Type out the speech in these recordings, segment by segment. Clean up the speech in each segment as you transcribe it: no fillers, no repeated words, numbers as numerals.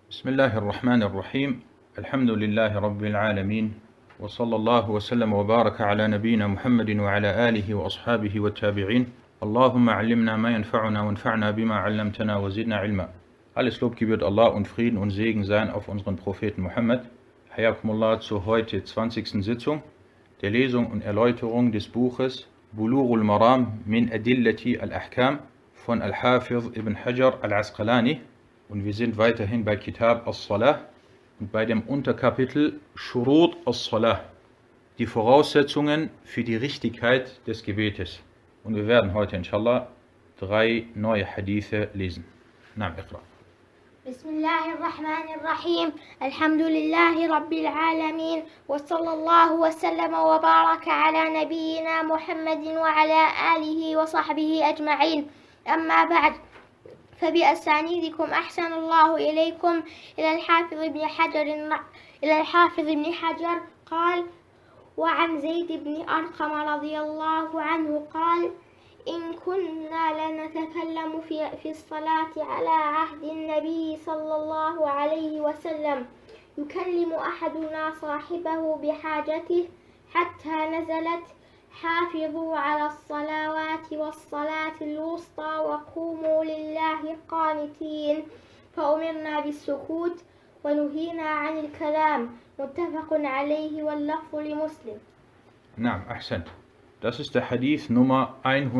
بسم الله الرحمن الرحيم الحمد لله رب العالمين وصلى الله وسلم وبارك على نبينا محمد وعلى آله وأصحابه والتابعين اللهم علمنا ما ينفعنا وانفعنا بما علمتنا وزدنا علما. Alles Lob gebührt Allah und Frieden und Segen sein auf unseren Propheten Muhammad. Hayakumullah zur heute 20. Sitzung der Lesung und Erläuterung des Buches Bulughul Maram min Adillati al-Ahkam von Al-Hafiz ibn Hajar al-Asqalani. Und wir sind weiterhin bei Kitab as-Salah und bei dem Unterkapitel Shurut as-Salah, die Voraussetzungen für die Richtigkeit des Gebetes. Und wir werden heute inshallah 3 neue Hadithe lesen. Naam, Iqra. Bismillahirrahmanirrahim. Alhamdulillahi Rabbil Alamin. Wa sallallahu wa sallama wa baraka ala nabiyyina Muhammadin wa ala alihi wa sahbihi ajma'in. Amma ba'd. فبأسانيدكم أحسن الله إليكم إلى الحافظ ابن حجر قال: وعن زيد بن أرقم رضي الله عنه قال: إن كنا لنتكلم في الصلاة على عهد النبي صلى الله عليه وسلم يكلم أحدنا صاحبه بحاجته حتى نزلت: حافظوا على الصلوات والصلاة الوسطى وقوموا لله قانتين، فأمرنا بالسكوت ونهينا عن الكلام. متفق عليه واللفظ لمسلم. Naam, ahsant. Das ist der Hadith Nummer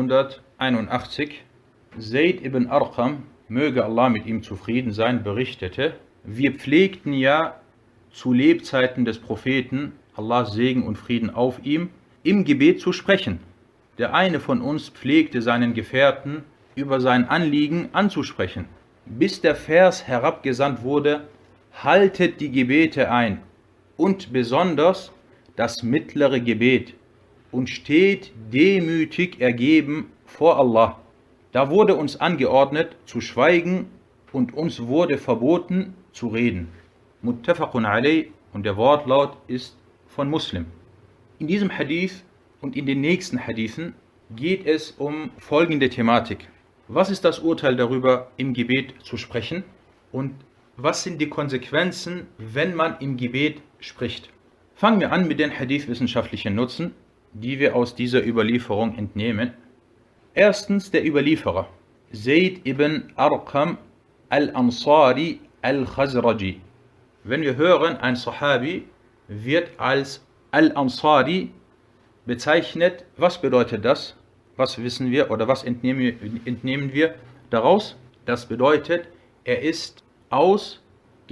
181. Zayd ibn Arqam, möge Allah mit ihm zufrieden sein, berichtete: Wir pflegten ja zu Lebzeiten des Propheten, Allahs Segen und Frieden auf ihm, im Gebet zu sprechen. Der eine von uns pflegte seinen Gefährten über sein Anliegen anzusprechen, bis der Vers herabgesandt wurde: Haltet die Gebete ein und besonders das mittlere Gebet und steht demütig ergeben vor Allah. Da wurde uns angeordnet zu schweigen und uns wurde verboten zu reden. Muttafaqun alayh, und der Wortlaut ist von Muslim. In diesem Hadith und in den nächsten Hadithen geht es um folgende Thematik. Was ist das Urteil darüber, im Gebet zu sprechen? Und was sind die Konsequenzen, wenn man im Gebet spricht? Fangen wir an mit den hadithwissenschaftlichen Nutzen, die wir aus dieser Überlieferung entnehmen. Erstens der Überlieferer, Zayd ibn Arqam al-Ansari al-Khazraji. Wenn wir hören, ein Sahabi wird als Al-Ansari bezeichnet. Was bedeutet das? Was wissen wir oder was entnehmen wir daraus? Das bedeutet, er ist aus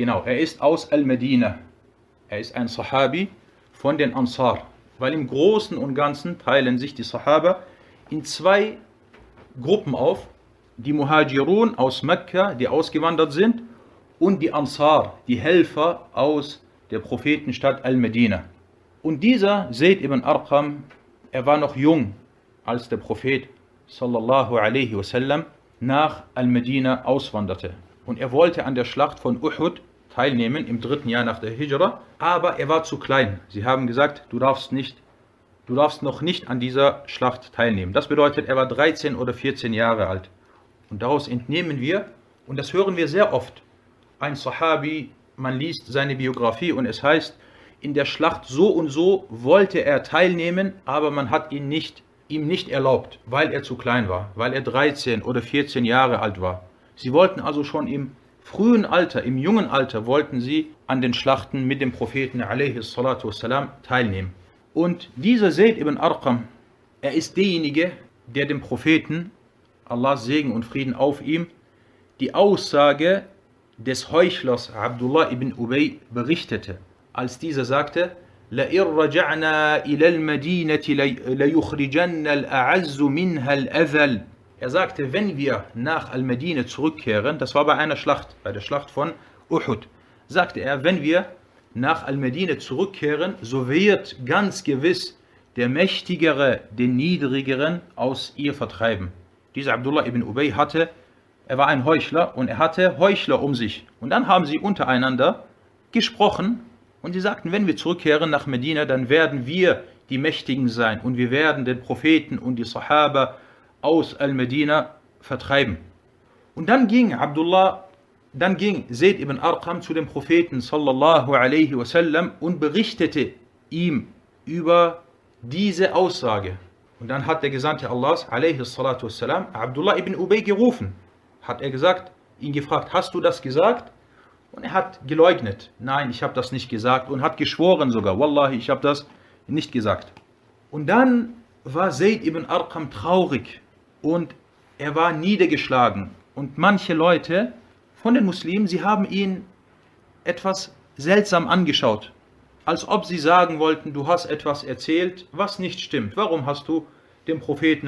Al-Medina. Er ist ein Sahabi von den Ansar. Weil im Großen und Ganzen teilen sich die Sahaba in 2 Gruppen auf. Die Muhajirun aus Mekka, die ausgewandert sind, und die Ansar, die Helfer aus der Prophetenstadt Al-Medina. Und dieser Zayd ibn Arqam, er war noch jung, als der Prophet sallallahu alaihi wasallam nach Al-Medina auswanderte. Und er wollte an der Schlacht von Uhud teilnehmen, im 3. Jahr nach der Hijra, aber er war zu klein. Sie haben gesagt, du darfst noch nicht an dieser Schlacht teilnehmen. Das bedeutet, er war 13 oder 14 Jahre alt. Und daraus entnehmen wir, und das hören wir sehr oft, ein Sahabi, man liest seine Biografie und es heißt, in der Schlacht so und so wollte er teilnehmen, aber man hat ihm nicht erlaubt, weil er zu klein war, weil er 13 oder 14 Jahre alt war. Sie wollten also schon im frühen Alter, im jungen Alter, wollten sie an den Schlachten mit dem Propheten a.s. teilnehmen. Und dieser Zayd ibn Arqam, er ist derjenige, der dem Propheten, Allahs Segen und Frieden auf ihm, die Aussage des Heuchlers Abdullah ibn Ubay berichtete, als dieser sagte: لَإِنْ رَجَعْنَا إِلَى الْمَدِينَةِ لَيُخْرِجَنَّ الْأَعَزُّ مِنْهَا الْأَذَلَ. Er sagte, wenn wir nach Al-Medina zurückkehren, das war bei einer Schlacht, bei der Schlacht von Uhud, sagte er, wenn wir nach Al-Medina zurückkehren, so wird ganz gewiss der Mächtigere den Niedrigeren aus ihr vertreiben. Dieser Abdullah ibn Ubay er war ein Heuchler und er hatte Heuchler um sich. Und dann haben sie untereinander gesprochen und sie sagten, wenn wir zurückkehren nach Medina, dann werden wir die Mächtigen sein und wir werden den Propheten und die Sahaba aus Al-Medina vertreiben. Und dann ging Abdullah dann ging Zayd ibn Arqam zu dem Propheten sallallahu alaihi wasallam und berichtete ihm über diese Aussage. Und dann hat der Gesandte Allahs alaihi salatu wassalam Abdullah ibn Ubay gerufen. Hat er gesagt, ihn gefragt, hast du das gesagt? Und er hat geleugnet, nein, ich habe das nicht gesagt, und hat geschworen sogar, Wallahi, ich habe das nicht gesagt. Und dann war Zayd ibn Arqam traurig und er war niedergeschlagen. Und manche Leute von den Muslimen, sie haben ihn etwas seltsam angeschaut, als ob sie sagen wollten, du hast etwas erzählt, was nicht stimmt. Warum hast du dem Propheten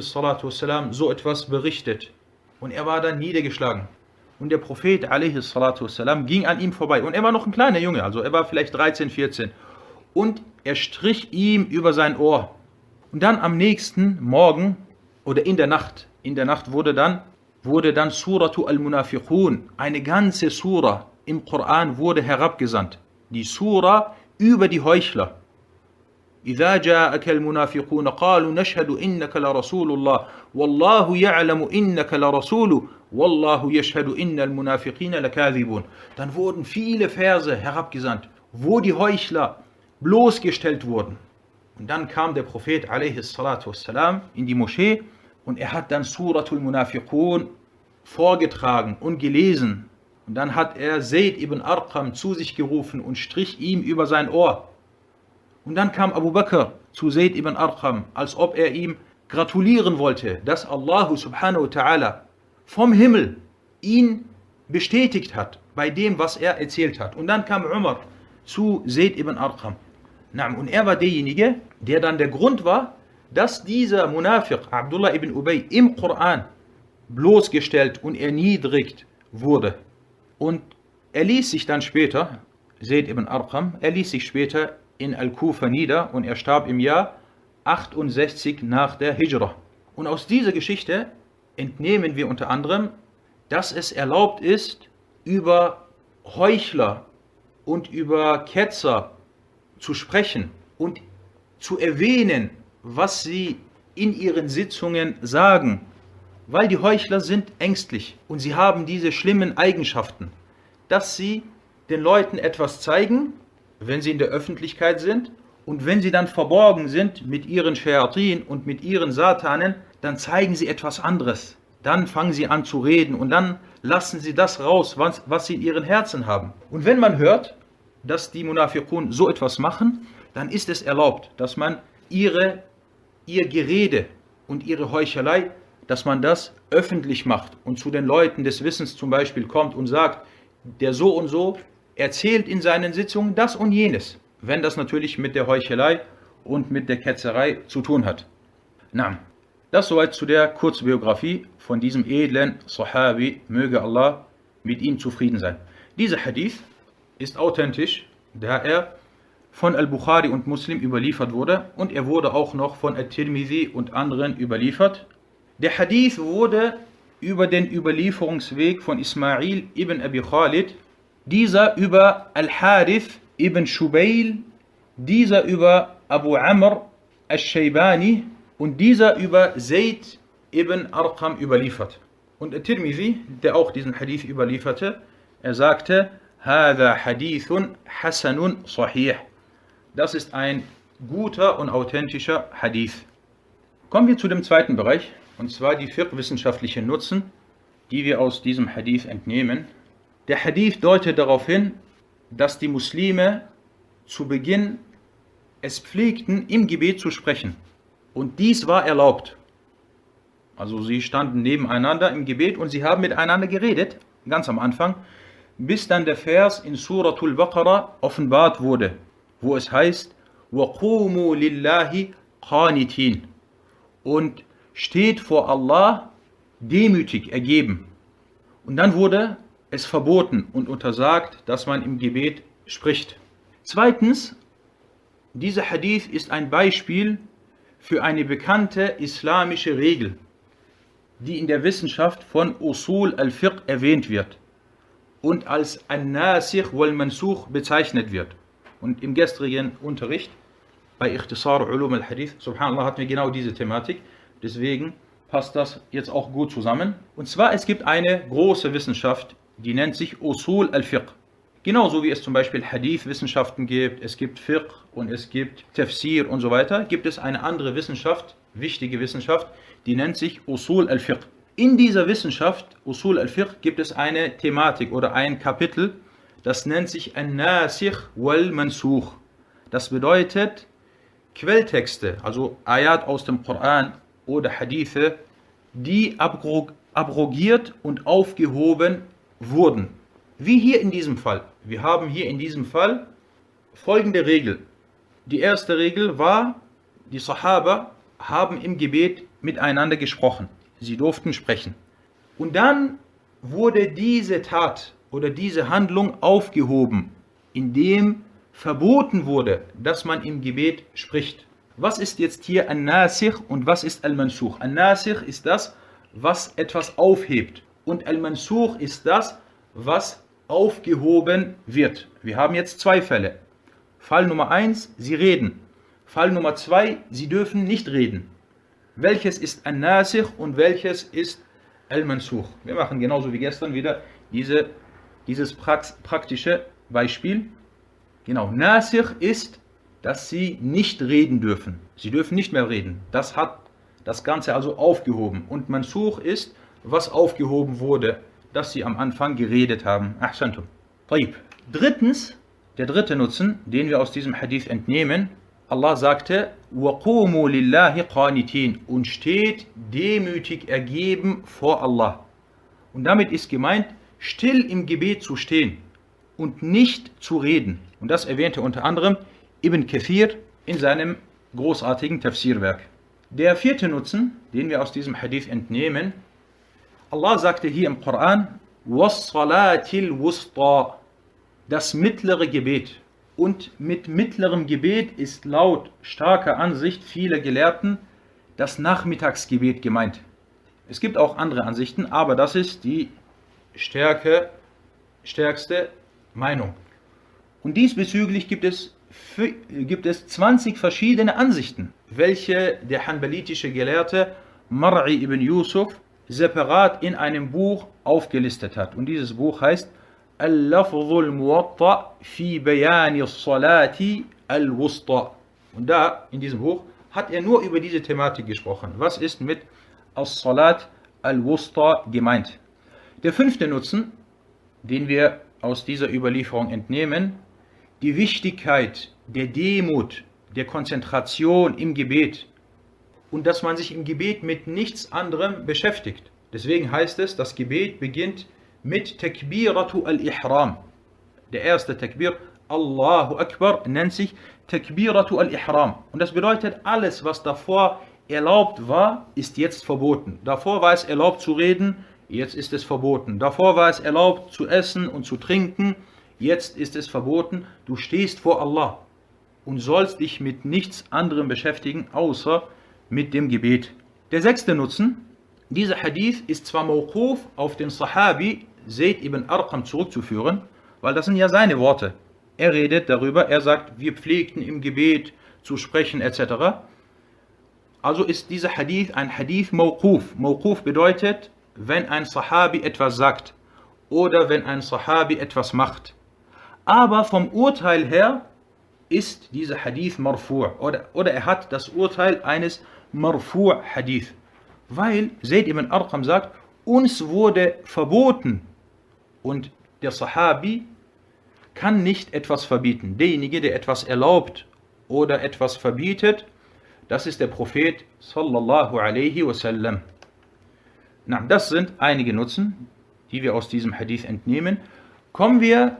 a.s. so etwas berichtet? Und er war dann niedergeschlagen. Und der Prophet a.s. ging an ihm vorbei. Und er war noch ein kleiner Junge, also er war vielleicht 13, 14. Und er strich ihm über sein Ohr. Und dann am nächsten Morgen oder in der Nacht wurde dann Suratu al-Munafiqun, eine ganze Sura im Koran wurde herabgesandt. Die Sura über die Heuchler. إذا جاءك المنافقون قالوا نشهد إنك لرسول الله والله يعلم إنك لرسول والله يشهد إن المنافقين لكاذبون. Dann wurden viele Verse herabgesandt, wo die Heuchler bloßgestellt wurden. Und dann kam der Prophet a.s. in die Moschee und er hat dann Suratul Munafiqun vorgetragen und gelesen. Und dann hat er Zayd ibn Arqam zu sich gerufen und strich ihm über sein Ohr. Und dann kam Abu Bakr zu Zayd ibn Arqam, als ob er ihm gratulieren wollte, dass Allah subhanahu wa ta'ala vom Himmel ihn bestätigt hat bei dem, was er erzählt hat. Und dann kam Umar zu Zayd ibn Arqam. Und er war derjenige, der dann der Grund war, dass dieser Munafiq, Abdullah ibn Ubay, im Koran bloßgestellt und erniedrigt wurde. Und er ließ sich dann später, Zayd ibn Arqam, in Al-Kufa nieder und er starb im Jahr 68 nach der Hijra. Und aus dieser Geschichte entnehmen wir unter anderem, dass es erlaubt ist, über Heuchler und über Ketzer zu sprechen und zu erwähnen, was sie in ihren Sitzungen sagen, weil die Heuchler sind ängstlich und sie haben diese schlimmen Eigenschaften, dass sie den Leuten etwas zeigen, wenn sie in der Öffentlichkeit sind, und wenn sie dann verborgen sind mit ihren Shayatin und mit ihren Satanen, dann zeigen sie etwas anderes. Dann fangen sie an zu reden und dann lassen sie das raus, was sie in ihren Herzen haben. Und wenn man hört, dass die Munafiqun so etwas machen, dann ist es erlaubt, dass man ihr Gerede und ihre Heuchelei, dass man das öffentlich macht und zu den Leuten des Wissens zum Beispiel kommt und sagt, der so und so erzählt in seinen Sitzungen das und jenes, wenn das natürlich mit der Heuchelei und mit der Ketzerei zu tun hat. Das soweit zu der Kurzbiografie von diesem edlen Sahabi, möge Allah mit ihm zufrieden sein. Dieser Hadith ist authentisch, da er von Al-Bukhari und Muslim überliefert wurde und er wurde auch noch von At-Tirmidhi und anderen überliefert. Der Hadith wurde über den Überlieferungsweg von Ismail ibn Abi Khalid, dieser über Al-Harith ibn Shubayl, dieser über Abu Amr al-Shaybani und dieser über Zayd ibn Arqam überliefert. Und At-Tirmidhi, der auch diesen Hadith überlieferte, er sagte, هذا حديث حسن صحيح. Das ist ein guter und authentischer Hadith. Kommen wir zu dem zweiten Bereich, und zwar die fiqh-wissenschaftlichen Nutzen, die wir aus diesem Hadith entnehmen. Der Hadith deutet darauf hin, dass die Muslime zu Beginn es pflegten, im Gebet zu sprechen. Und dies war erlaubt. Also sie standen nebeneinander im Gebet und sie haben miteinander geredet, ganz am Anfang, bis dann der Vers in Suratul Baqarah offenbart wurde, wo es heißt, وَقُومُوا لِلَّهِ قَانِتِينَ, und steht vor Allah demütig ergeben. Und dann wurde es verboten und untersagt, dass man im Gebet spricht. Zweitens, dieser Hadith ist ein Beispiel für eine bekannte islamische Regel, die in der Wissenschaft von Usul al-Fiqh erwähnt wird und als An-Nasikh wal-Mansukh bezeichnet wird. Und im gestrigen Unterricht bei Ikhtisar Ulum al-Hadith, subhanallah, hatten wir genau diese Thematik. Deswegen passt das jetzt auch gut zusammen. Und zwar, es gibt eine große Wissenschaft die nennt sich Usul al-Fiqh. Genauso wie es zum Beispiel Hadith-Wissenschaften gibt, es gibt Fiqh und es gibt Tafsir und so weiter, gibt es eine andere Wissenschaft, wichtige Wissenschaft, die nennt sich Usul al-Fiqh. In dieser Wissenschaft, Usul al-Fiqh, gibt es eine Thematik oder ein Kapitel, das nennt sich An-Nasikh wal-Mansukh. Das bedeutet Quelltexte, also Ayat aus dem Koran oder Hadithe, die abrogiert und aufgehoben wurden. Wie hier in diesem Fall. Wir haben hier in diesem Fall folgende Regel. Die erste Regel war, die Sahaba haben im Gebet miteinander gesprochen. Sie durften sprechen. Und dann wurde diese Tat oder diese Handlung aufgehoben, indem verboten wurde, dass man im Gebet spricht. Was ist jetzt hier An-Nasikh und was ist Al-Mansukh? An-Nasikh ist das, was etwas aufhebt. Und Al-Mansukh ist das, was aufgehoben wird. Wir haben jetzt zwei Fälle. Fall Nummer 1, sie reden. Fall Nummer 2, sie dürfen nicht reden. Welches ist An-Nasikh und welches ist Al-Mansukh? Wir machen genauso wie gestern wieder dieses praktische Beispiel. Genau, Nasikh ist, dass sie nicht reden dürfen. Sie dürfen nicht mehr reden. Das hat das Ganze also aufgehoben. Und Mansukh ist, was aufgehoben wurde, dass sie am Anfang geredet haben. Ahsantum. Drittens, der dritte Nutzen, den wir aus diesem Hadith entnehmen, Allah sagte, وَقُومُوا لِلَّهِ قَانِتِينَ und steht demütig ergeben vor Allah. Und damit ist gemeint, still im Gebet zu stehen und nicht zu reden. Und das erwähnte unter anderem Ibn Kathir in seinem großartigen Tafsirwerk. Der vierte Nutzen, den wir aus diesem Hadith entnehmen, Allah sagte hier im Koran, وَالصَّلَاةِ الْوُسْطَى, das mittlere Gebet. Und mit mittlerem Gebet ist laut starker Ansicht vieler Gelehrten das Nachmittagsgebet gemeint. Es gibt auch andere Ansichten, aber das ist die stärkste Meinung. Und diesbezüglich gibt es 20 verschiedene Ansichten, welche der hanbalitische Gelehrte Mar'i ibn Yusuf separat in einem Buch aufgelistet hat. Und dieses Buch heißt Al-Lafzul Muwatta fi Bayani Salati al-Wusta. Und da, in diesem Buch, hat er nur über diese Thematik gesprochen. Was ist mit As-Salat al-Wusta gemeint? Der fünfte Nutzen, den wir aus dieser Überlieferung entnehmen, die Wichtigkeit der Demut, der Konzentration im Gebet und dass man sich im Gebet mit nichts anderem beschäftigt. Deswegen heißt es, das Gebet beginnt mit Takbiratu al-Ihram. Der erste Takbir, Allahu Akbar, nennt sich Takbiratu al-Ihram. Und das bedeutet, alles, was davor erlaubt war, ist jetzt verboten. Davor war es erlaubt zu reden, jetzt ist es verboten. Davor war es erlaubt zu essen und zu trinken, jetzt ist es verboten. Du stehst vor Allah und sollst dich mit nichts anderem beschäftigen, außer mit dem Gebet. Der sechste Nutzen, dieser Hadith ist zwar mawquf auf den Sahabi Zayd ibn Arqam zurückzuführen, weil das sind ja seine Worte. Er redet darüber, er sagt, wir pflegten im Gebet zu sprechen etc. Also ist dieser Hadith ein Hadith mawquf. Mawquf bedeutet, wenn ein Sahabi etwas sagt oder wenn ein Sahabi etwas macht. Aber vom Urteil her ist dieser Hadith marfu' oder er hat das Urteil eines marfu' Hadith. Weil Zayd ibn Arqam sagt, uns wurde verboten und der Sahabi kann nicht etwas verbieten. Derjenige, der etwas erlaubt oder etwas verbietet, das ist der Prophet sallallahu alaihi wasallam. Das sind einige Nutzen, die wir aus diesem Hadith entnehmen. Kommen wir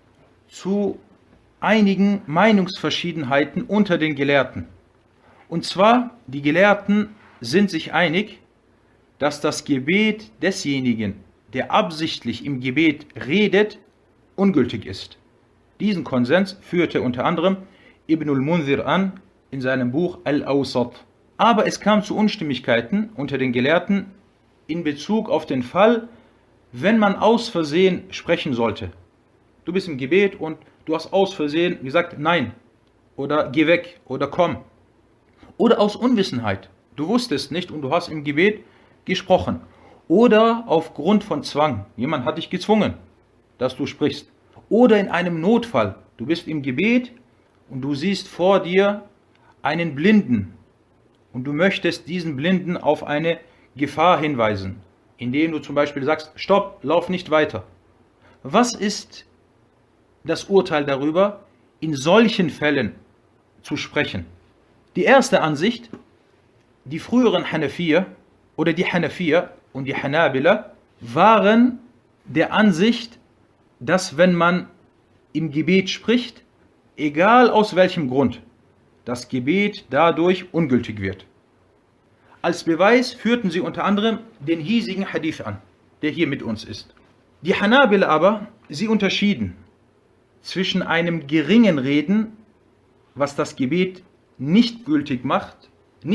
zu einigen Meinungsverschiedenheiten unter den Gelehrten. Und zwar, die Gelehrten sind sich einig, dass das Gebet desjenigen, der absichtlich im Gebet redet, ungültig ist. Diesen Konsens führte unter anderem Ibn al-Munzir an in seinem Buch Al-Awsat. Aber es kam zu Unstimmigkeiten unter den Gelehrten in Bezug auf den Fall, wenn man aus Versehen sprechen sollte. Du bist im Gebet und du hast aus Versehen gesagt, nein, oder geh weg, oder komm. Oder aus Unwissenheit. Du wusstest nicht und du hast im Gebet gesprochen. oder aufgrund von Zwang. Jemand hat dich gezwungen, dass du sprichst. Oder in einem Notfall. Du bist im Gebet und du siehst vor dir einen Blinden und du möchtest diesen Blinden auf eine Gefahr hinweisen, indem du zum Beispiel sagst, stopp, lauf nicht weiter. Was ist das Urteil darüber, in solchen Fällen zu sprechen? Die erste Ansicht, die früheren Hanafier oder die Hanafier und die Hanabila waren der Ansicht, dass wenn man im Gebet spricht, egal aus welchem Grund, das Gebet dadurch ungültig wird. Als Beweis führten sie unter anderem den hiesigen Hadith an, der hier mit uns ist. Die Hanabila aber, sie unterschieden zwischen einem geringen Reden, was das Gebet nicht ungültig macht,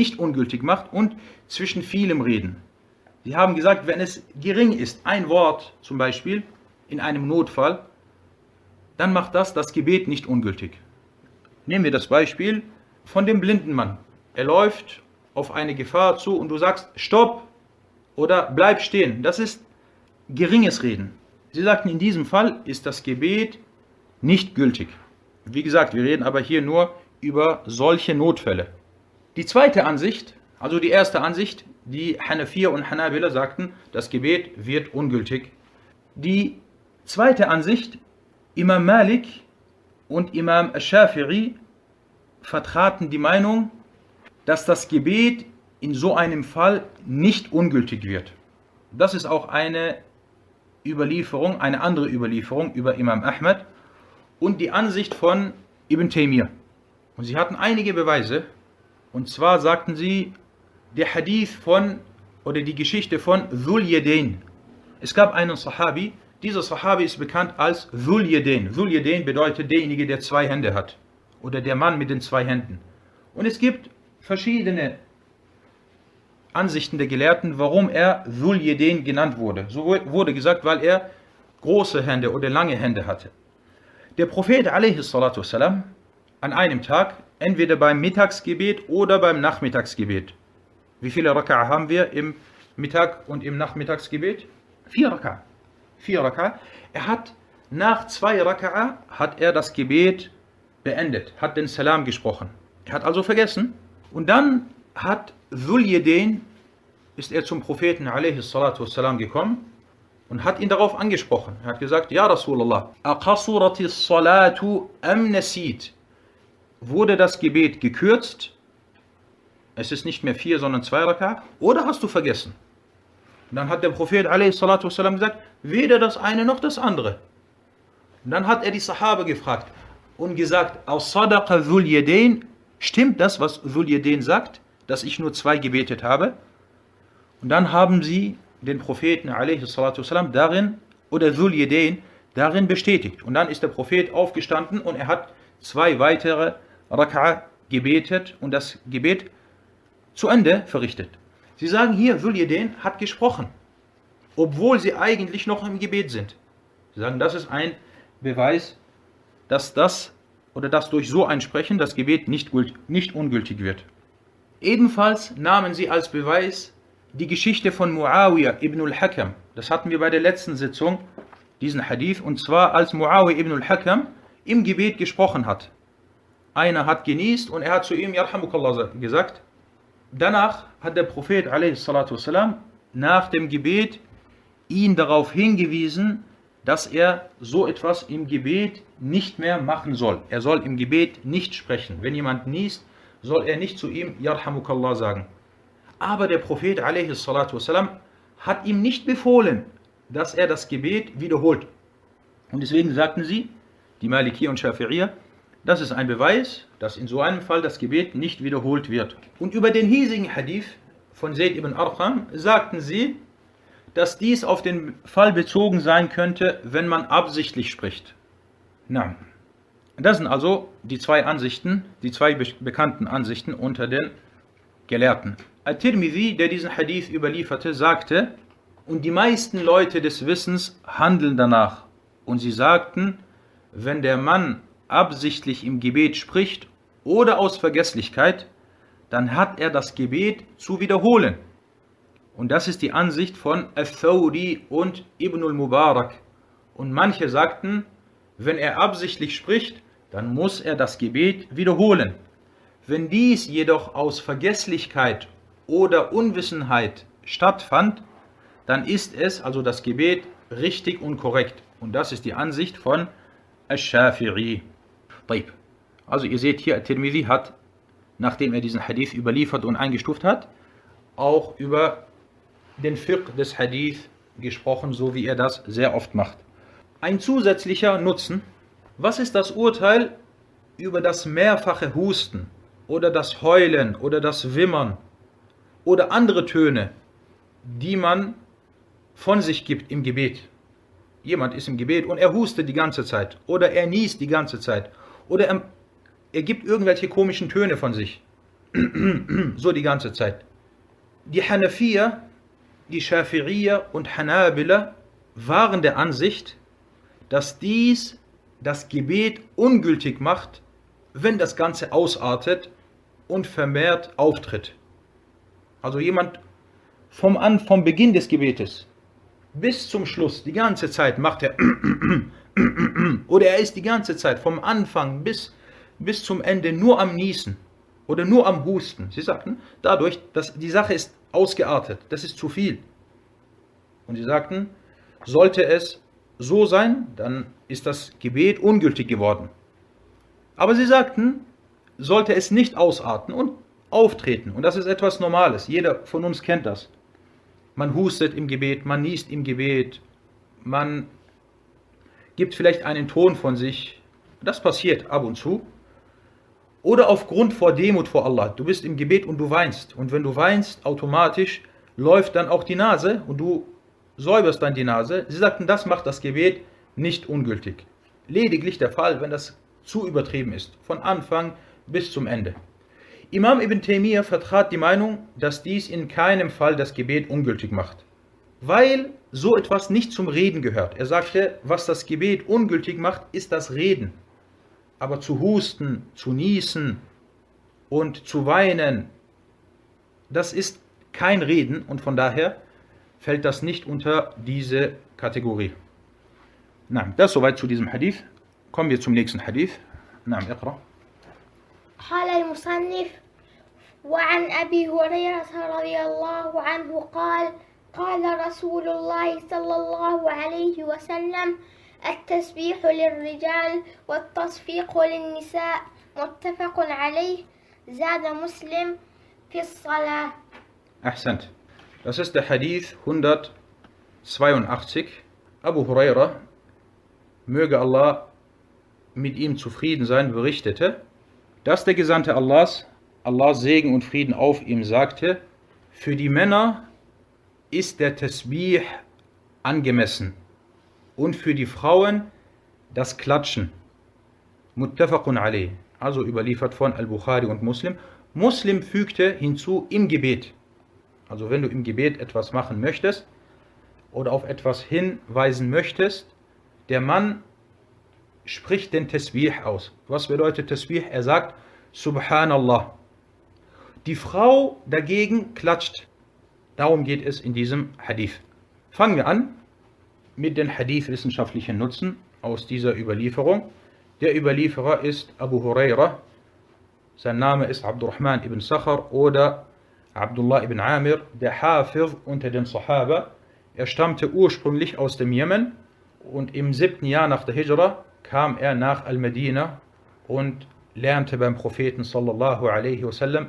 und zwischen vielem Reden. Sie haben gesagt, wenn es gering ist, ein Wort zum Beispiel, in einem Notfall, dann macht das Gebet nicht ungültig. Nehmen wir das Beispiel von dem blinden Mann. Er läuft auf eine Gefahr zu und du sagst, stopp oder bleib stehen. Das ist geringes Reden. Sie sagten, in diesem Fall ist das Gebet nicht gültig. Wie gesagt, wir reden aber hier nur über solche Notfälle. Die zweite Ansicht, also die erste Ansicht, die Hanafier und Hanabila sagten, das Gebet wird ungültig. Die zweite Ansicht, Imam Malik und Imam Shafi'i vertraten die Meinung, dass das Gebet in so einem Fall nicht ungültig wird. Das ist auch eine Überlieferung, eine andere Überlieferung über Imam Ahmad und die Ansicht von Ibn Taymiyyah. Und sie hatten einige Beweise, und zwar sagten sie, der Hadith oder die Geschichte von Dhul Yadayn. Es gab einen Sahabi, dieser Sahabi ist bekannt als Dhul Yadayn. Dhul Yadayn bedeutet derjenige, der zwei Hände hat. Oder der Mann mit den zwei Händen. Und es gibt verschiedene Ansichten der Gelehrten, warum er Dhul Yadayn genannt wurde. So wurde gesagt, weil er große Hände oder lange Hände hatte. Der Prophet a.s. an einem Tag, entweder beim Mittagsgebet oder beim Nachmittagsgebet. Wie viele Raka'a haben wir im Mittag- und im Nachmittagsgebet? 4 Raka'a. 4 Raka'a. Er hat nach 2 Raka'a hat er das Gebet beendet, hat den Salam gesprochen. Er hat also vergessen. Und dann hat Dhul Yadayn, ist er zum Propheten a.s. gekommen und hat ihn darauf angesprochen. Er hat gesagt, Ja Rasulallah, aqasuratis salatu am nasit. Wurde das Gebet gekürzt? Es ist nicht mehr 4, sondern 2 Raka'a. Oder hast du vergessen? Und dann hat der Prophet a.s. gesagt, weder das eine noch das andere. Und dann hat er die Sahaba gefragt und gesagt, aus Sadaqa Dhul Yadayn, stimmt das, was Dhul Yadayn sagt, dass ich nur 2 gebetet habe? Und dann haben sie den Propheten a.s. darin, oder Dhul Yadayn, darin bestätigt. Und dann ist der Prophet aufgestanden und er hat 2 weitere Raka'a gebetet und das Gebet zu Ende verrichtet. Sie sagen hier, Dhul Yadayn hat gesprochen, obwohl sie eigentlich noch im Gebet sind. Sie sagen, das ist ein Beweis, dass durch so ein Sprechen das Gebet nicht ungültig wird. Ebenfalls nahmen sie als Beweis die Geschichte von Muawiyah ibn al-Hakam. Das hatten wir bei der letzten Sitzung, diesen Hadith, und zwar als Muawiyah ibn al-Hakam im Gebet gesprochen hat. Einer hat genießt und er hat zu ihm Yarhamukallah gesagt. Danach hat der Prophet a.s. nach dem Gebet ihn darauf hingewiesen, dass er so etwas im Gebet nicht mehr machen soll. Er soll im Gebet nicht sprechen. Wenn jemand niest, soll er nicht zu ihm Yarhamukallah sagen. Aber der Prophet a.s. hat ihm nicht befohlen, dass er das Gebet wiederholt. Und deswegen sagten sie, die Maliki und Shafi'iyya, das ist ein Beweis, dass in so einem Fall das Gebet nicht wiederholt wird. Und über den hiesigen Hadith von Zayd ibn Arqam sagten sie, dass dies auf den Fall bezogen sein könnte, wenn man absichtlich spricht. Na, das sind also die 2 Ansichten, die 2 bekannten Ansichten unter den Gelehrten. At-Tirmidhi, der diesen Hadith überlieferte, sagte, und die meisten Leute des Wissens handeln danach. Und sie sagten, wenn der Mann absichtlich im Gebet spricht oder aus Vergesslichkeit, dann hat er das Gebet zu wiederholen. Und das ist die Ansicht von Al-Thawri und Ibn al-Mubarak. Und manche sagten, wenn er absichtlich spricht, dann muss er das Gebet wiederholen. Wenn dies jedoch aus Vergesslichkeit oder Unwissenheit stattfand, dann ist es, also das Gebet, richtig und korrekt. Und das ist die Ansicht von Al-Shafi'i. Also ihr seht hier, At-Tirmidhi hat, nachdem er diesen Hadith überliefert und eingestuft hat, auch über den Fiqh des Hadith gesprochen, so wie er das sehr oft macht. Ein zusätzlicher Nutzen: Was ist das Urteil über das mehrfache Husten oder das Heulen oder das Wimmern oder andere Töne, die man von sich gibt im Gebet? Jemand ist im Gebet und er hustet die ganze Zeit oder er niest die ganze Zeit oder er gibt irgendwelche komischen Töne von sich, so die ganze Zeit. Die Hanafiya, die Schafi'iyya und Hanabila waren der Ansicht, dass dies das Gebet ungültig macht, wenn das Ganze ausartet und vermehrt auftritt. Also jemand vom Beginn des Gebetes bis zum Schluss, die ganze Zeit macht er oder er ist die ganze Zeit vom Anfang bis zum Ende nur am Niesen oder nur am Husten. Sie sagten, dadurch, dass die Sache ist ausgeartet, das ist zu viel. Und sie sagten, sollte es so sein, dann ist das Gebet ungültig geworden. Aber sie sagten, sollte es nicht ausarten und auftreten, und das ist etwas Normales, jeder von uns kennt das. Man hustet im Gebet, man niest im Gebet, man gibt vielleicht einen Ton von sich, das passiert ab und zu. Oder aufgrund vor Demut vor Allah, du bist im Gebet und du weinst, und wenn du weinst, automatisch läuft dann auch die Nase und du säuberst dann die Nase. Sie sagten, das macht das Gebet nicht ungültig. Lediglich der Fall, wenn das zu übertrieben ist, von Anfang bis zum Ende. Imam Ibn Taymiyyah vertrat die Meinung, dass dies in keinem Fall das Gebet ungültig macht, weil so etwas nicht zum Reden gehört. Er sagte, was das Gebet ungültig macht, ist das Reden. Aber zu husten, zu niesen und zu weinen, das ist kein Reden, und von daher fällt das nicht unter diese Kategorie. Das soweit zu diesem Hadith. Kommen wir zum nächsten Hadith. اقرأ. قال المصنف: وعن أبي هريرة رضي الله عنه قال: قال رسول الله صلى الله عليه وسلم: التسبيح للرجال والتصفيق للنساء، متفق عليه، زاد مسلم في الصلاة. Ahsant. Das ist der Hadith 182. Abu Huraira, möge Allah mit ihm zufrieden sein, berichtete, dass der Gesandte Allahs, Allahs Segen und Frieden auf ihm, sagte: Für die Männer ist der Tasbih angemessen und für die Frauen das Klatschen. Muttafaqun alayh, also überliefert von Al-Bukhari und Muslim. Muslim fügte hinzu im Gebet. Also wenn du im Gebet etwas machen möchtest oder auf etwas hinweisen möchtest, der Mann spricht den Tasbih aus. Was bedeutet Tasbih? Er sagt Subhanallah. Die Frau dagegen klatscht. Darum geht es in diesem Hadith. Fangen wir an mit den Hadith-wissenschaftlichen Nutzen aus dieser Überlieferung. Der Überlieferer ist Abu Huraira. Sein Name ist Abdurrahman ibn Sakhar oder Abdullah ibn Amir, der Hafiz unter den Sahaba. Er stammte ursprünglich aus dem Jemen und im 7. Jahr nach der Hijra kam er nach Al-Medina und lernte beim Propheten sallallahu alaihi wasallam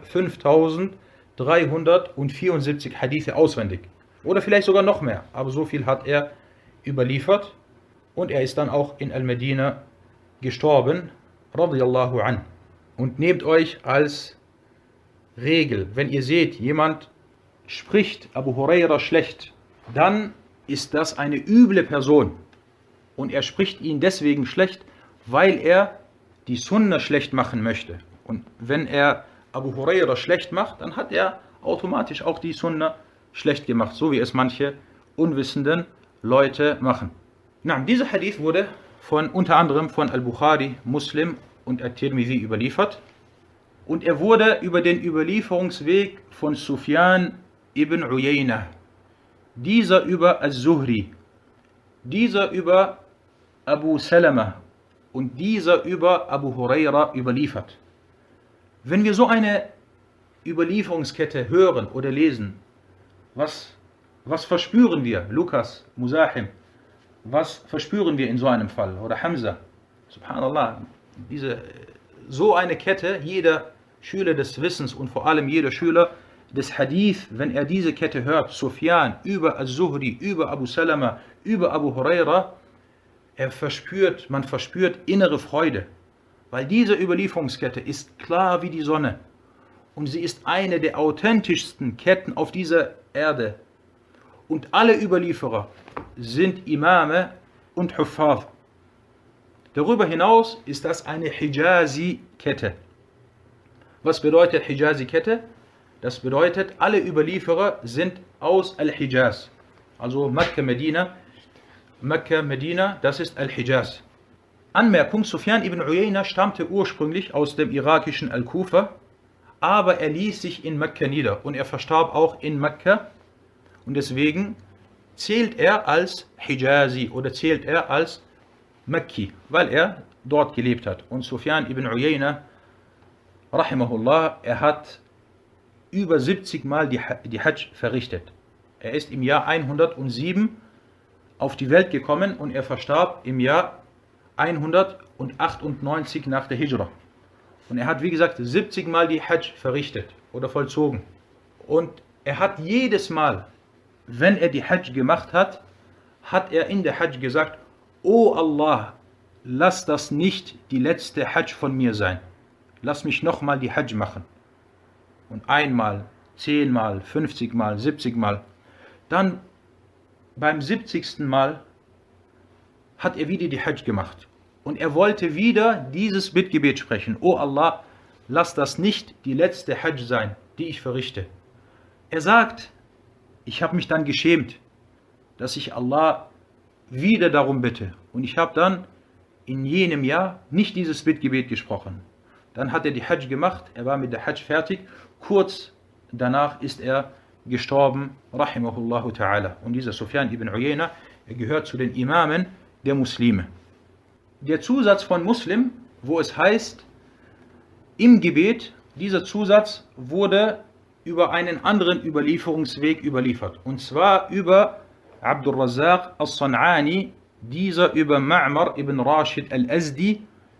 5374 Hadithe auswendig. Oder vielleicht sogar noch mehr, aber so viel hat er überliefert, und er ist dann auch in Al-Medina gestorben, radiyallahu an. Und nehmt euch als Regel, wenn ihr seht, jemand spricht Abu Huraira schlecht, dann ist das eine üble Person. Und er spricht ihn deswegen schlecht, weil er die Sunna schlecht machen möchte. Und wenn er Abu Huraira schlecht macht, dann hat er automatisch auch die Sunna schlecht gemacht, so wie es manche unwissenden Leute machen. Dieser Hadith wurde unter anderem von Al-Bukhari, Muslim und At-Tirmidhi überliefert. Und er wurde über den Überlieferungsweg von Sufyan ibn Uyayna, dieser über Al-Zuhri, dieser über Abu Salama und dieser über Abu Huraira überliefert. Wenn wir so eine Überlieferungskette hören oder lesen, was verspüren wir? Lukas, Musahim, was verspüren wir in so einem Fall? Oder Hamza, subhanallah, so eine Kette, jeder Schüler des Wissens und vor allem jeder Schüler des Hadith, wenn er diese Kette hört, Sufyan über Al-Zuhri, über Abu Salama, über Abu Huraira, man verspürt innere Freude, weil diese Überlieferungskette ist klar wie die Sonne und sie ist eine der authentischsten Ketten auf dieser Erde. Und alle Überlieferer sind Imame und Huffaz. Darüber hinaus ist das eine Hijazi-Kette. Was bedeutet Hijazi-Kette? Das bedeutet, alle Überlieferer sind aus Al-Hijaz. Also Mekka, Medina, das ist Al-Hijaz. Anmerkung, Sufyan ibn Uyayna stammte ursprünglich aus dem irakischen Al-Kufa, aber er ließ sich in Mekka nieder und er verstarb auch in Mekka. Und deswegen zählt er als Hijazi oder zählt er als Mekki, weil er dort gelebt hat. Und Sufyan ibn Uyayna, rahimahullah, er hat über 70 Mal die Hajj verrichtet. Er ist im Jahr 107 auf die Welt gekommen und er verstarb im Jahr 198 nach der Hijra. Und er hat, wie gesagt, 70 Mal die Hajj verrichtet oder vollzogen. Und er hat jedes Mal, wenn er die Hajj gemacht hat, hat er in der Hajj gesagt: O Allah, lass das nicht die letzte Hajj von mir sein. Lass mich nochmal die Hajj machen. Und einmal, 10 Mal, 50 Mal, 70 Mal. Dann beim 70. Mal hat er wieder die Hajj gemacht. Und er wollte wieder dieses Bittgebet sprechen: O Allah, lass das nicht die letzte Hajj sein, die ich verrichte. Er sagt: Ich habe mich dann geschämt, dass ich Allah wieder darum bitte. Und ich habe dann in jenem Jahr nicht dieses Bittgebet gesprochen. Dann hat er die Hajj gemacht, er war mit der Hajj fertig. Kurz danach ist er gestorben, rahimahullahu ta'ala. Und dieser Sufyan ibn Uyayna, er gehört zu den Imamen der Muslime. Der Zusatz von Muslim, wo es heißt, im Gebet, dieser Zusatz wurde über einen anderen Überlieferungsweg überliefert. Und zwar über Abdul Razzaq al-San'ani, dieser über Ma'mar ibn Rashid al-Azdi,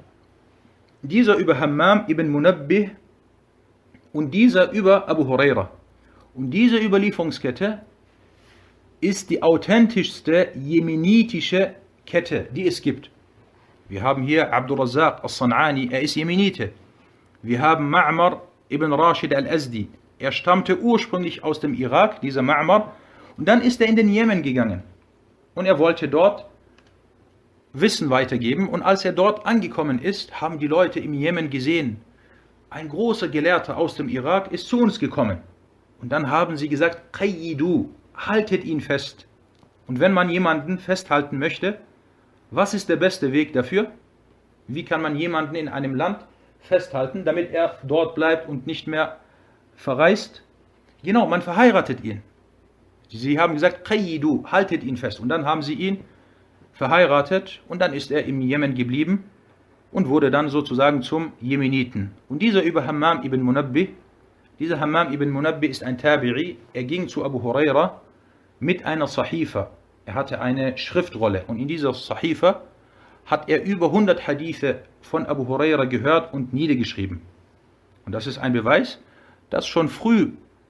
dieser über Hammam ibn Munabbih und dieser über Abu Huraira. Und diese Überlieferungskette ist die authentischste jemenitische Kette, die es gibt. Wir haben hier Abdul Razzaq al-San'ani, er ist Jemenite. Wir haben Ma'mar ibn Rashid al-Azdi. Er stammte ursprünglich aus dem Irak, dieser Ma'mar, und dann ist er in den Jemen gegangen. Und er wollte dort Wissen weitergeben. Und als er dort angekommen ist, haben die Leute im Jemen gesehen, ein großer Gelehrter aus dem Irak ist zu uns gekommen. Und dann haben sie gesagt: Qayyidu, haltet ihn fest. Und wenn man jemanden festhalten möchte, was ist der beste Weg dafür? Wie kann man jemanden in einem Land festhalten, damit er dort bleibt und nicht mehr verreist? Genau, man verheiratet ihn. Sie haben gesagt: Qayyidu, haltet ihn fest. Und dann haben sie ihn verheiratet und dann ist er im Jemen geblieben und wurde dann sozusagen zum Jemeniten. Und dieser über Hammam ibn Munabbih, dieser Hammam ibn Munabbih ist ein Tabi'i, er ging zu Abu Huraira mit einer Sahifa. Er hatte eine Schriftrolle und in dieser Sahifa hat er über 100 Hadithe von Abu Huraira gehört und niedergeschrieben. Und das ist ein Beweis, dass schon früh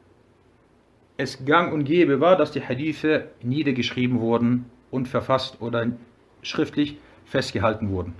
es gang und gäbe war, dass die Hadithe niedergeschrieben wurden und verfasst oder schriftlich festgehalten wurden.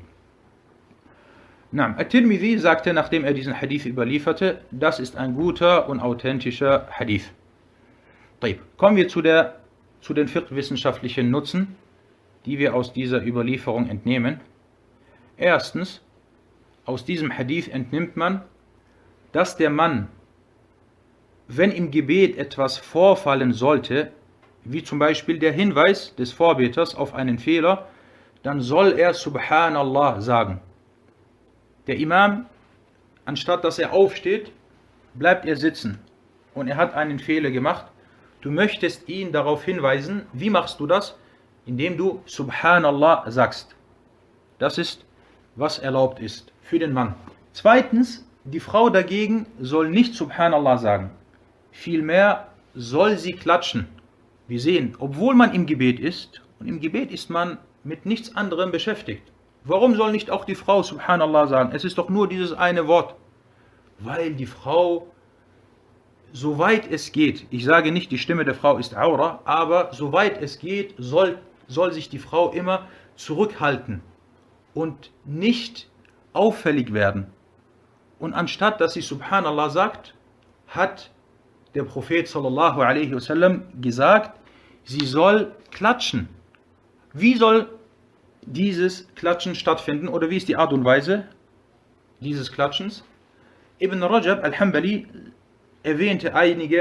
At-Tirmidhi sagte, nachdem er diesen Hadith überlieferte, das ist ein guter und authentischer Hadith. Kommen wir zu den fiqh-wissenschaftlichen Nutzen, die wir aus dieser Überlieferung entnehmen. Erstens, aus diesem Hadith entnimmt man, dass der Mann, wenn im Gebet etwas vorfallen sollte, wie zum Beispiel der Hinweis des Vorbeters auf einen Fehler, dann soll er Subhanallah sagen. Der Imam, anstatt dass er aufsteht, bleibt er sitzen und er hat einen Fehler gemacht, Du möchtest ihn darauf hinweisen. Wie machst du das? Indem du Subhanallah sagst. Das ist, was erlaubt ist für den Mann. Zweitens, die Frau dagegen soll nicht Subhanallah sagen. Vielmehr soll sie klatschen. Wir sehen, obwohl man im Gebet ist, und im Gebet ist man mit nichts anderem beschäftigt. Warum soll nicht auch die Frau Subhanallah sagen? Es ist doch nur dieses eine Wort. Weil die Frau, soweit es geht, ich sage nicht, die Stimme der Frau ist Aura, aber soweit es geht, soll sich die Frau immer zurückhalten und nicht auffällig werden. Und anstatt dass sie Subhanallah sagt, hat der Prophet sallallahu alaihi wasallam gesagt, sie soll klatschen. Wie soll dieses Klatschen stattfinden oder wie ist die Art und Weise dieses Klatschens? Ibn Rajab al-Hanbali erwähnte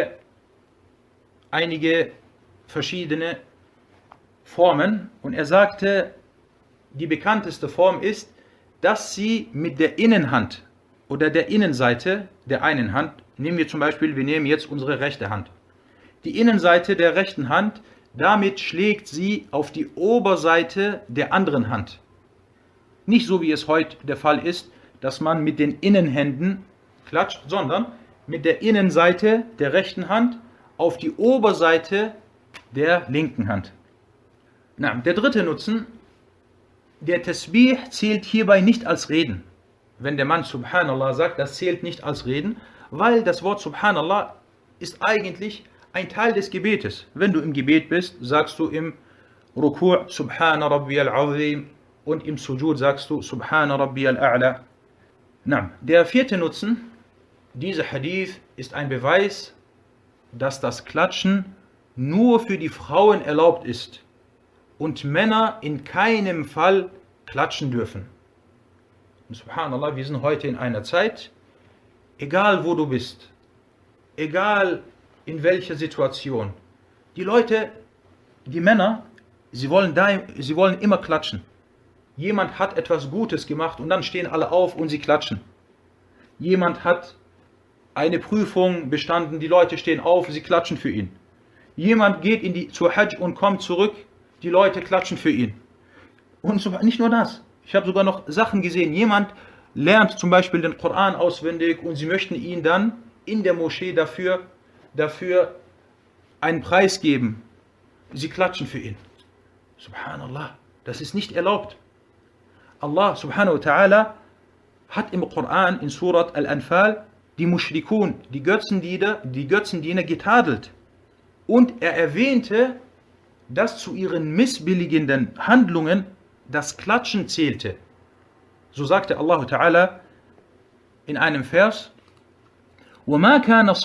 einige verschiedene Formen und er sagte, die bekannteste Form ist, dass sie mit der Innenhand oder der Innenseite der einen Hand, nehmen wir zum Beispiel, wir nehmen jetzt unsere rechte Hand, die Innenseite der rechten Hand, damit schlägt sie auf die Oberseite der anderen Hand. Nicht so wie es heute der Fall ist, dass man mit den Innenhänden klatscht, sondern mit der Innenseite der rechten Hand auf die Oberseite der linken Hand. Na, der dritte Nutzen, der Tasbih zählt hierbei nicht als Reden. Wenn der Mann Subhanallah sagt, das zählt nicht als Reden, weil das Wort Subhanallah ist eigentlich ein Teil des Gebetes. Wenn du im Gebet bist, sagst du im Ruku' Subhana Rabbiyal Azim und im Sujud sagst du Subhana Rabbiyal A'la. Na, der vierte Nutzen, dieser Hadith ist ein Beweis, dass das Klatschen nur für die Frauen erlaubt ist und Männer in keinem Fall klatschen dürfen. Und Subhanallah, wir sind heute in einer Zeit, egal wo du bist, egal in welcher Situation, die Leute, die Männer, sie wollen immer klatschen. Jemand hat etwas Gutes gemacht und dann stehen alle auf und sie klatschen. Jemand hat eine Prüfung bestanden, die Leute stehen auf, sie klatschen für ihn. Jemand geht zur Hajj und kommt zurück, die Leute klatschen für ihn. Und nicht nur das, ich habe sogar noch Sachen gesehen, jemand lernt zum Beispiel den Koran auswendig und sie möchten ihn dann in der Moschee dafür einen Preis geben. Sie klatschen für ihn. Subhanallah, das ist nicht erlaubt. Allah subhanahu wa ta'ala hat im Koran in Surat Al-Anfal die Mushrikun, die Götzendiener getadelt. Und er erwähnte, dass zu ihren missbilligenden Handlungen das Klatschen zählte. So sagte Allah Ta'ala in einem Vers, وما كان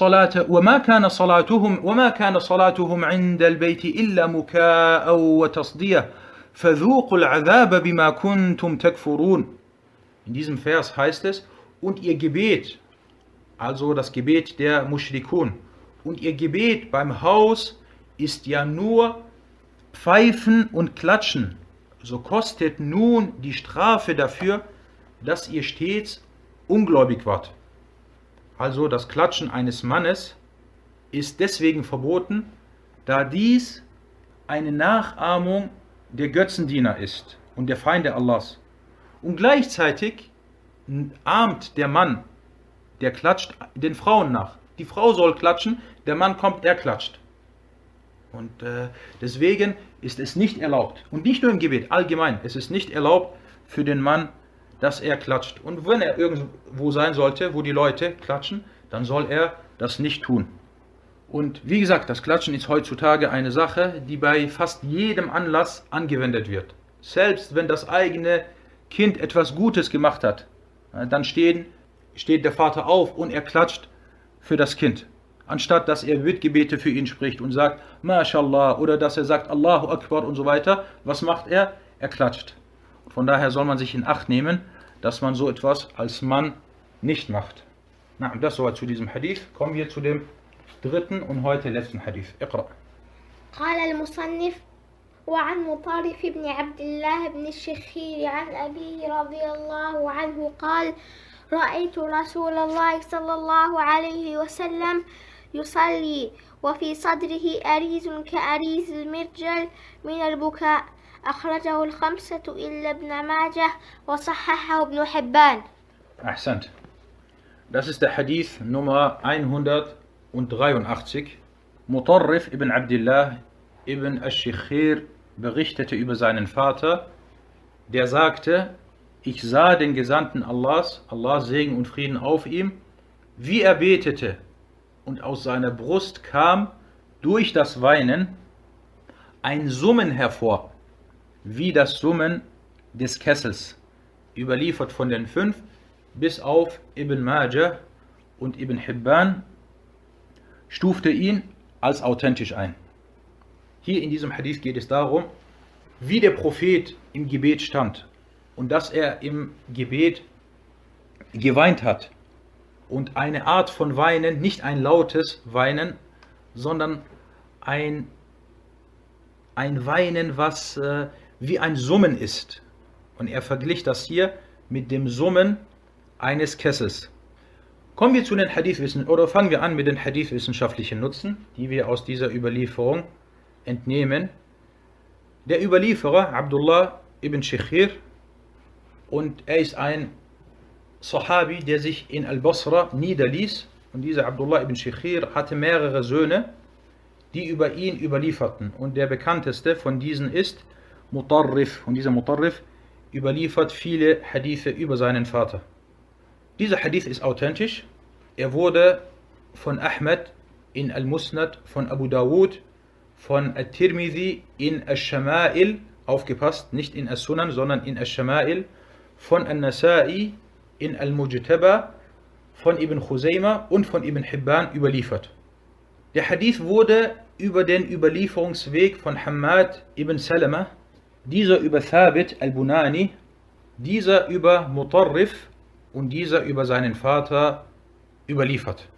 صلاتهم عند البيت إلا مكاء وتصدية فذوقوا العذاب بما كنتم تكفرون. In diesem Vers heißt es, und ihr Gebet, also das Gebet der Mushrikun, und ihr Gebet beim Haus ist ja nur Pfeifen und Klatschen. So kostet nun die Strafe dafür, dass ihr stets ungläubig wart. Also das Klatschen eines Mannes ist deswegen verboten, da dies eine Nachahmung der Götzendiener ist und der Feinde Allahs. Und gleichzeitig ahmt der Mann, der klatscht, den Frauen nach. Die Frau soll klatschen, der Mann kommt, er klatscht. Und deswegen ist es nicht erlaubt, und nicht nur im Gebet, allgemein, es ist nicht erlaubt für den Mann, dass er klatscht. Und wenn er irgendwo sein sollte, wo die Leute klatschen, dann soll er das nicht tun. Und wie gesagt, das Klatschen ist heutzutage eine Sache, die bei fast jedem Anlass angewendet wird. Selbst wenn das eigene Kind etwas Gutes gemacht hat, dann steht der Vater auf und er klatscht für das Kind. Anstatt dass er Bittgebete für ihn spricht und sagt, MashaAllah, oder dass er sagt, Allahu Akbar und so weiter. Was macht er? Er klatscht. Von daher soll man sich in Acht nehmen, dass man so etwas als Mann nicht macht. Na, das soweit zu diesem Hadith. Kommen wir zu dem dritten und heute letzten Hadith. Iqra. قال المصنف وعن مطرف بن عبد الله بن الشخير عن أبيه رضي الله عنه قال رأيت رسول الله صلى الله عليه وسلم يصلي وفي صدره أريز كأريز المرجل من البكاء. أخرجه الخمسة إلا ابن ماجه وصححه ابن حبان. Ahsant. Das ist der Hadith Nummer 183. Mutarrif ibn Abdullah ibn Ash-Shikhir berichtete über seinen Vater, der sagte, ich sah den Gesandten Allahs, Allah Segen und Frieden auf ihm, wie er betete, und aus seiner Brust kam durch das Weinen ein Summen hervor, wie das Summen des Kessels, überliefert von den 5, bis auf Ibn Majah und Ibn Hibban stufte ihn als authentisch ein. Hier in diesem Hadith geht es darum, wie der Prophet im Gebet stand und dass er im Gebet geweint hat. Und eine Art von Weinen, nicht ein lautes Weinen, sondern ein Weinen, was wie ein Summen ist. Und er verglich das hier mit dem Summen eines Kessels. Kommen wir zu den Hadithwissen, oder fangen wir an mit den Hadithwissenschaftlichen Nutzen, die wir aus dieser Überlieferung entnehmen. Der Überlieferer Abdullah ibn Shikhir, und er ist ein Sahabi, der sich in Al-Basra niederließ, und dieser Abdullah ibn Shikhir hatte mehrere Söhne, die über ihn überlieferten, und der bekannteste von diesen ist Mutarrif, und dieser Mutarrif überliefert viele Hadithe über seinen Vater. Dieser Hadith ist authentisch. Er wurde von Ahmed in Al-Musnad, von Abu Dawud, von At-Tirmidhi in Ash-Shama'il, aufgepasst, nicht in As-Sunan, sondern in Ash-Shama'il, von An-Nasa'i in Al-Mujtaba, von Ibn Khuzaymah und von Ibn Hibban überliefert. Der Hadith wurde über den Überlieferungsweg von Hammad ibn Salama, dieser über Thabit al-Bunani, dieser über Mutarrif und dieser über seinen Vater überliefert.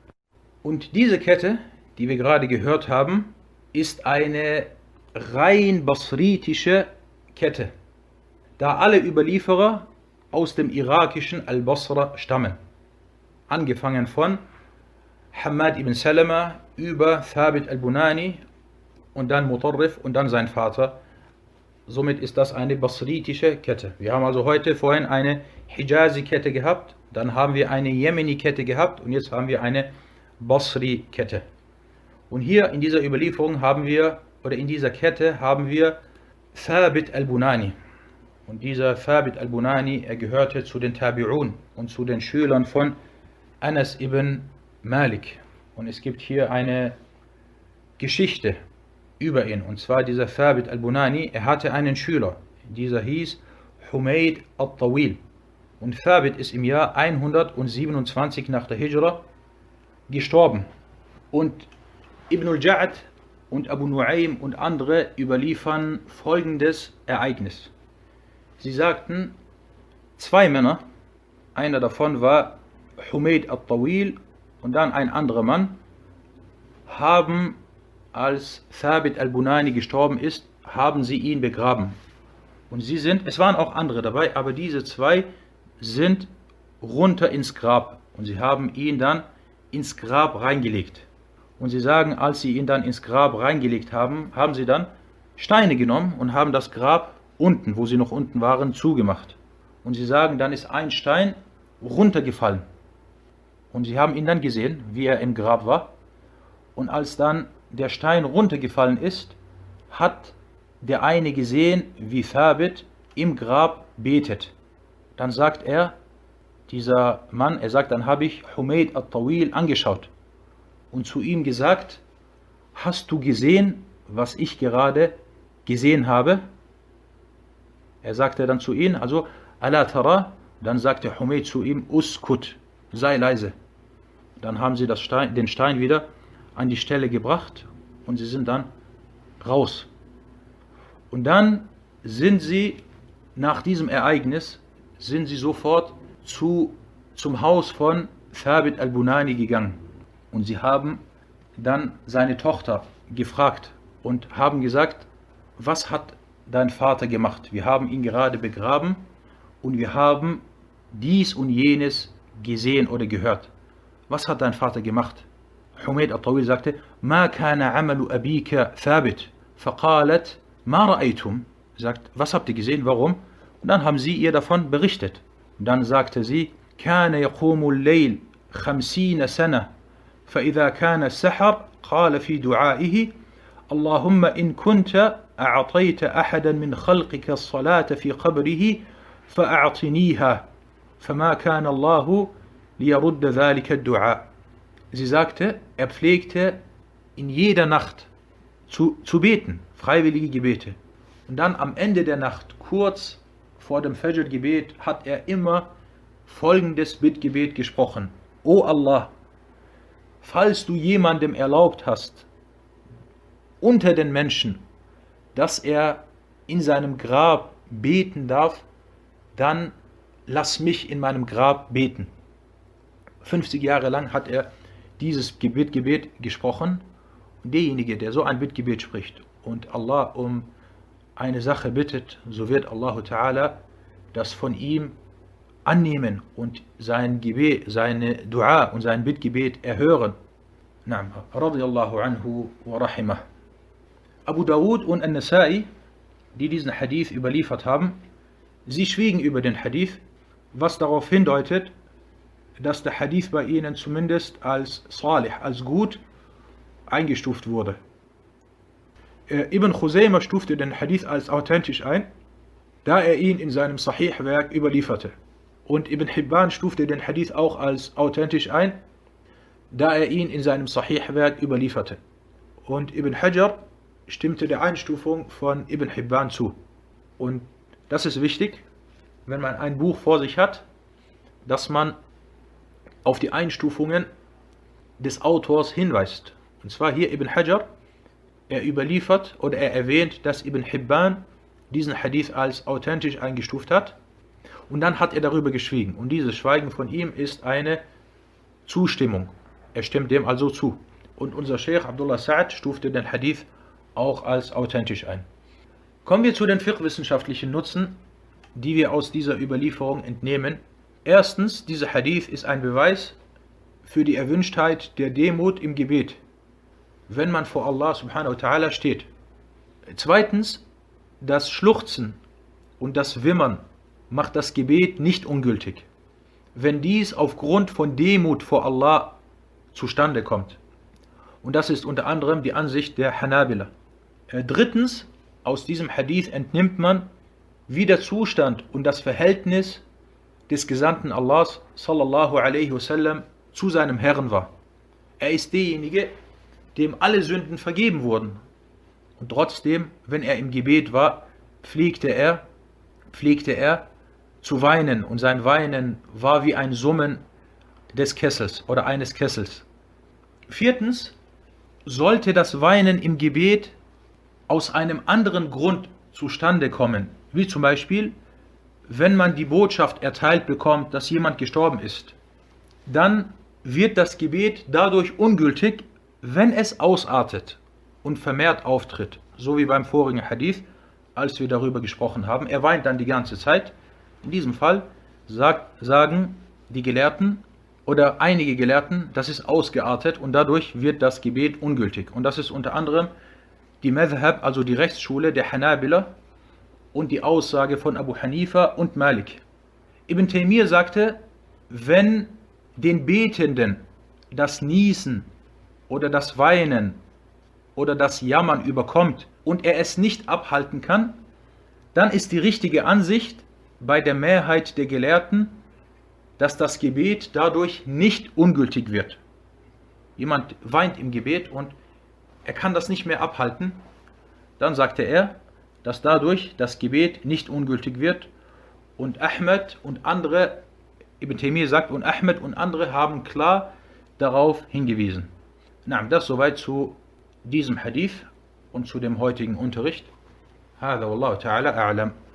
Und diese Kette, die wir gerade gehört haben, ist eine rein basritische Kette, da alle Überlieferer aus dem irakischen Al-Basra stammen. Angefangen von Hammad ibn Salama über Thabit al-Bunani und dann Mutarrif und dann sein Vater. Somit ist das eine basritische Kette. Wir haben also vorhin eine Hijazi-Kette gehabt, dann haben wir eine Yemeni-Kette gehabt und jetzt haben wir eine Basri-Kette. Und hier in dieser Überlieferung haben wir, oder in dieser Kette haben wir Thabit al-Bunani. Und dieser Thabit al-Bunani, er gehörte zu den Tabi'un und zu den Schülern von Anas ibn Malik. Und es gibt hier eine Geschichte über ihn. Und zwar dieser Thabit al-Bunani, er hatte einen Schüler. Dieser hieß Humayd al-Tawil. Und Thabit ist im Jahr 127 nach der Hijra gestorben. Und Ibn al-Ja'd und Abu Nu'aym und andere überliefern folgendes Ereignis. Sie sagten, 2 Männer, einer davon war Humayd al-Tawil und dann ein anderer Mann, haben, als Thabit al-Bunani gestorben ist, haben sie ihn begraben. Und es waren auch andere dabei, aber diese 2 sind runter ins Grab. Und sie haben ihn dann ins Grab reingelegt. Und sie sagen, als sie ihn dann ins Grab reingelegt haben, haben sie dann Steine genommen und haben das Grab unten, wo sie noch unten waren, zugemacht. Und sie sagen, dann ist ein Stein runtergefallen. Und sie haben ihn dann gesehen, wie er im Grab war. Und als dann der Stein runtergefallen ist, hat der eine gesehen, wie Thabit im Grab betet. Dann sagt er, dieser Mann, er sagt, dann habe ich Humayd al-Tawil angeschaut und zu ihm gesagt, hast du gesehen, was ich gerade gesehen habe? Er sagte dann zu ihm, also, Ala tara, dann sagte Humayd zu ihm, Uskut, sei leise. Dann haben sie den Stein wieder an die Stelle gebracht und sie sind dann raus. Und dann sind sie, nach diesem Ereignis, sind sie sofort zum Haus von Thabit al-Bunani gegangen. Und sie haben dann seine Tochter gefragt und haben gesagt, was hat dein Vater gemacht? Wir haben ihn gerade begraben und wir haben dies und jenes gesehen oder gehört. Was hat dein Vater gemacht? Humayd al-Tawil sagte, Ma kana amalu abika thabit. Faqalat, ma ra'aytum. Sagt, was habt ihr gesehen, warum? Und dann haben sie ihr davon berichtet. Und dann sagte sie, Kana yaqumu al-layl 50 sana. فإذا كان السحر قال في دعائه اللهم إن كنت أعطيت أحدا من خلقك الصلاة في قبره فأعطنيها فما كان الله ليرد ذلك الدعاء. Sie sagte, pflegte in jeder Nacht zu beten, freiwillige Gebete. Und dann am Ende der Nacht, kurz vor dem Fajr-Gebet, hat er immer folgendes Bittgebet gesprochen. O Allah, falls du jemandem erlaubt hast, unter den Menschen, dass er in seinem Grab beten darf, dann lass mich in meinem Grab beten. 50 Jahre lang hat er dieses Gebet gesprochen. Und derjenige, der so ein Bittgebet spricht und Allah um eine Sache bittet, so wird Allah Ta'ala das von ihm annehmen und sein Gebet, seine Dua und sein Bittgebet erhören. Na'am, radiyallahu anhu wa rahimah. Abu Dawud und An-Nasa'i, die diesen Hadith überliefert haben, sie schwiegen über den Hadith, was darauf hindeutet, dass der Hadith bei ihnen zumindest als salih, als gut eingestuft wurde. Ibn Khuzaymah stufte den Hadith als authentisch ein, da er ihn in seinem Sahih-Werk überlieferte. Und Ibn Hibban stufte den Hadith auch als authentisch ein, da er ihn in seinem Sahih-Werk überlieferte. Und Ibn Hajar stimmte der Einstufung von Ibn Hibban zu. Und das ist wichtig, wenn man ein Buch vor sich hat, dass man auf die Einstufungen des Autors hinweist. Und zwar hier Ibn Hajar, er überliefert oder er erwähnt, dass Ibn Hibban diesen Hadith als authentisch eingestuft hat. Und dann hat er darüber geschwiegen. Und dieses Schweigen von ihm ist eine Zustimmung. Er stimmt dem also zu. Und unser Sheikh Abdullah Sa'd stufte den Hadith auch als authentisch ein. Kommen wir zu den fiqh-wissenschaftlichen Nutzen, die wir aus dieser Überlieferung entnehmen. Erstens, dieser Hadith ist ein Beweis für die Erwünschtheit der Demut im Gebet, wenn man vor Allah subhanahu wa ta'ala steht. Zweitens, das Schluchzen und das Wimmern macht das Gebet nicht ungültig, wenn dies aufgrund von Demut vor Allah zustande kommt. Und das ist unter anderem die Ansicht der Hanabila. Drittens, aus diesem Hadith entnimmt man, wie der Zustand und das Verhältnis des Gesandten Allahs sallallahu alaihi wasallam zu seinem Herrn war. Er ist derjenige, dem alle Sünden vergeben wurden. Und trotzdem, wenn er im Gebet war, pflegte er zu weinen. Und sein Weinen war wie ein Summen des Kessels oder eines Kessels. Viertens, sollte das Weinen im Gebet aus einem anderen Grund zustande kommen, wie zum Beispiel, wenn man die Botschaft erteilt bekommt, dass jemand gestorben ist, dann wird das Gebet dadurch ungültig, wenn es ausartet und vermehrt auftritt, so wie beim vorigen Hadith, als wir darüber gesprochen haben. Er weint dann die ganze Zeit. In diesem Fall sagen die Gelehrten oder einige Gelehrten, das ist ausgeartet und dadurch wird das Gebet ungültig. Und das ist unter anderem die Madhhab, also die Rechtsschule der Hanabila und die Aussage von Abu Hanifa und Malik. Ibn Taymiyyah sagte, wenn den Betenden das Niesen oder das Weinen oder das Jammern überkommt und er es nicht abhalten kann, dann ist die richtige Ansicht bei der Mehrheit der Gelehrten, dass das Gebet dadurch nicht ungültig wird. Jemand weint im Gebet und er kann das nicht mehr abhalten, dann sagte er, dass dadurch das Gebet nicht ungültig wird. Und Ahmed und andere, Ibn Taymiyyah sagt, und Ahmed und andere haben klar darauf hingewiesen. Das soweit zu diesem Hadith und zu dem heutigen Unterricht. هذا والله تعالى أعلم.